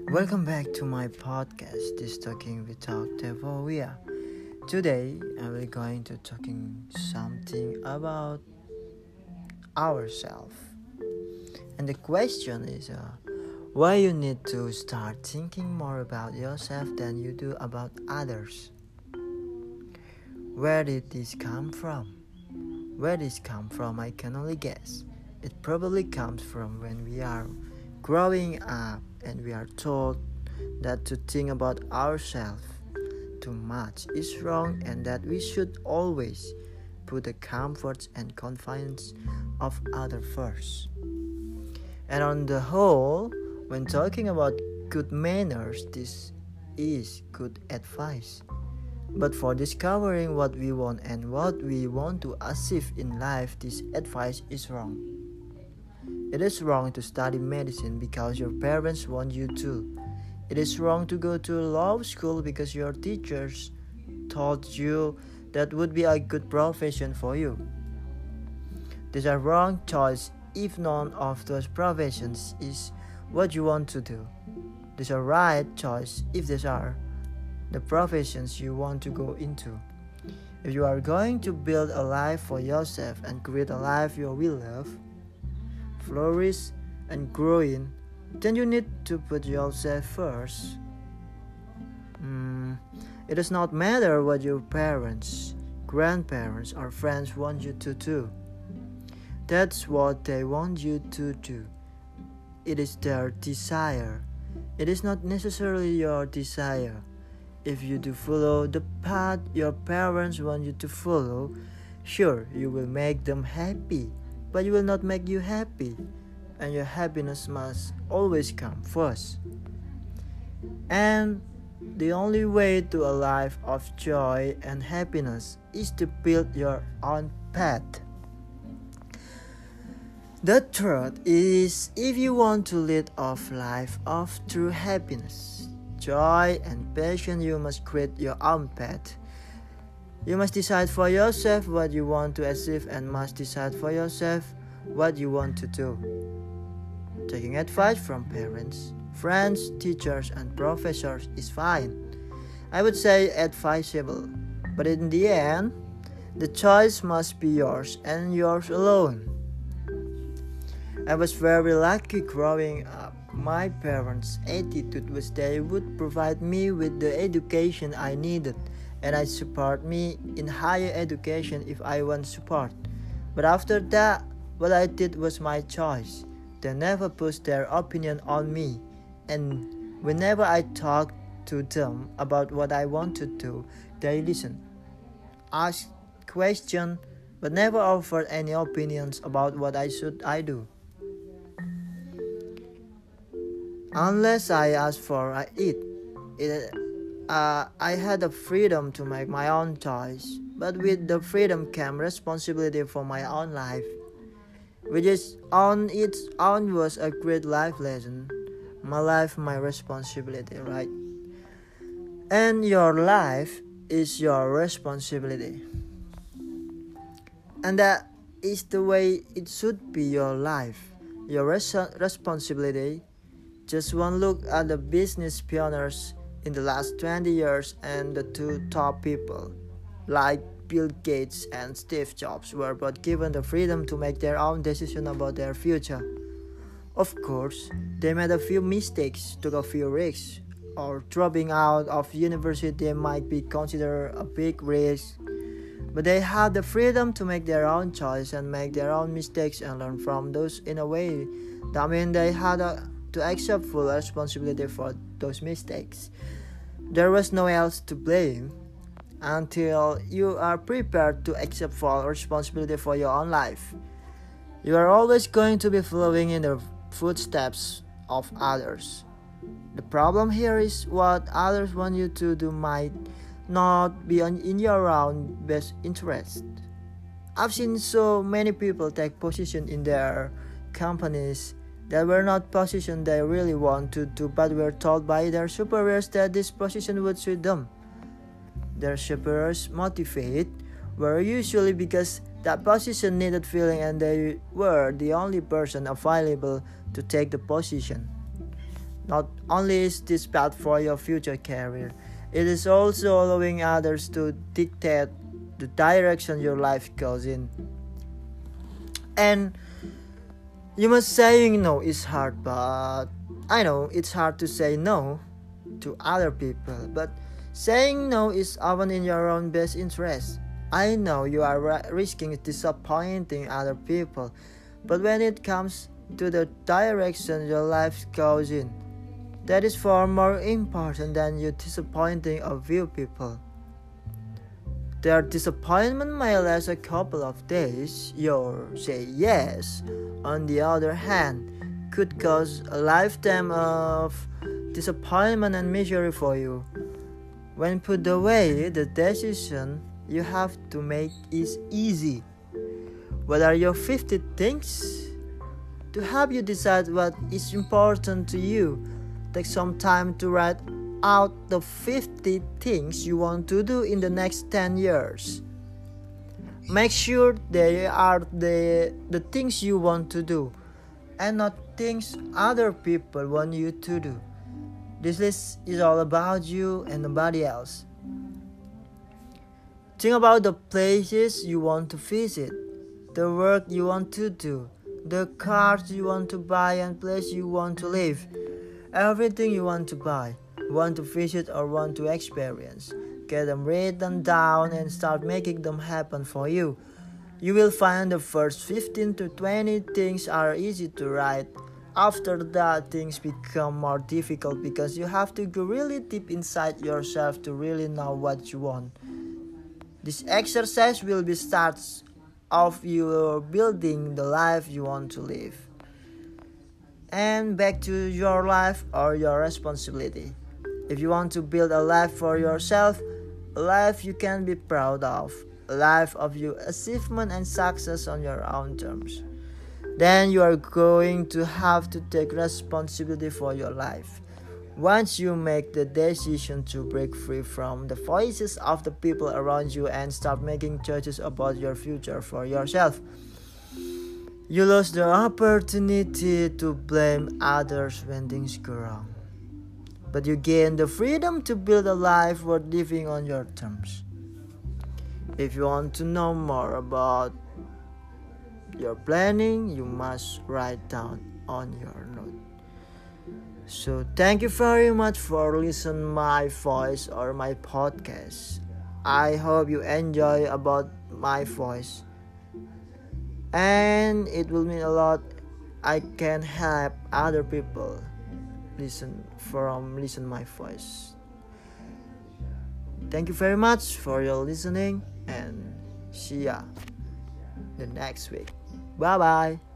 Welcome back to my podcast, This Talking with Dr. Voia. Today, I will going to talking something about ourselves. And the question is, why you need to start thinking more about yourself than you do about others? Where did this come from? Where this come from, I can only guess. It probably comes from when we are growing up and we are told that to think about ourselves too much is wrong and that we should always put the comforts and confidence of others first. And on the whole, when talking about good manners, this is good advice. But for discovering what we want and what we want to achieve in life, this advice is wrong. It is wrong to study medicine because your parents want you to. It is wrong to go to law school because your teachers told you that would be a good profession for you. These are wrong choices if none of those professions is what you want to do. These are right choice if these are the professions you want to go into. If you are going to build a life for yourself and create a life you will love, flourish and grow in, then you need to put yourself first. It does not matter what your parents, grandparents or friends want you to do. That's what they want you to do. It is their desire. It is not necessarily your desire. If you do follow the path your parents want you to follow, sure, you will make them happy, but you will not make you happy, and your happiness must always come first. And the only way to a life of joy and happiness is to build your own path. The truth is, if you want to lead a life of true happiness, joy and passion, you must create your own path. You must decide for yourself what you want to achieve and must decide for yourself what you want to do. Taking advice from parents, friends, teachers and professors is fine. I would say advisable, but in the end, the choice must be yours and yours alone. I was very lucky growing up. My parents' attitude was they would provide me with the education I needed and I support me in higher education if I want support. But after that, what I did was my choice. They never pushed their opinion on me, and whenever I talked to them about what I want to do, they listened, asked questions, but never offered any opinions about what I do. Unless I asked for it. I had the freedom to make my own choice, but with the freedom came responsibility for my own life, which is on its own was a great life lesson. My life, my responsibility, right? And your life is your responsibility. And that is the way it should be your life, your responsibility. Just one look at the business pioneers in the last 20 years and the two top people, like Bill Gates and Steve Jobs, were both given the freedom to make their own decision about their future. Of course, they made a few mistakes, took a few risks, or dropping out of university might be considered a big risk. But they had the freedom to make their own choice and make their own mistakes and learn from those in a way. That means they had to accept full responsibility for those mistakes. There was no else to blame until you are prepared to accept full responsibility for your own life. You are always going to be following in the footsteps of others. The problem here is what others want you to do might not be in your own best interest. I've seen so many people take position in their companies that were not positions they really want to do, but were told by their superiors that this position would suit them. Their superiors' motivate were usually because that position needed filling and they were the only person available to take the position. Not only is this bad for your future career, it is also allowing others to dictate the direction your life goes in. And you must saying no is hard, but I know it's hard to say no to other people, but saying no is often in your own best interest. I know you are risking disappointing other people, but when it comes to the direction your life goes in, that is far more important than you disappointing a few people. Their disappointment may last a couple of days. Your say yes, on the other hand, could cause a lifetime of disappointment and misery for you. When put away, the decision you have to make is easy. What are your 50 things? To help you decide what is important to you, take some time to write out the 50 things you want to do in the next 10 years. Make sure they are the things you want to do and not things other people want you to do. This list is all about you and nobody else. Think about the places you want to visit, the work you want to do, the cars you want to buy and place you want to live. Everything you want to buy, want to visit or want to experience. Get them written down and start making them happen for you. You will find the first 15 to 20 things are easy to write. After that, things become more difficult because you have to go really deep inside yourself to really know what you want. This exercise will be starts of you building the life you want to live. And back to your life or your responsibility. If you want to build a life for yourself, a life you can be proud of, a life of your achievement and success on your own terms, then you are going to have to take responsibility for your life. Once you make the decision to break free from the voices of the people around you and start making choices about your future for yourself, you lose the opportunity to blame others when things go wrong. But you gain the freedom to build a life worth living on your terms. If you want to know more about your planning, you must write down on your note. So thank you very much for listening my voice or my podcast. I hope you enjoy about my voice. And it will mean a lot. I can help other people listen my voice. Thank you very much for your listening and see ya the next week. Bye bye.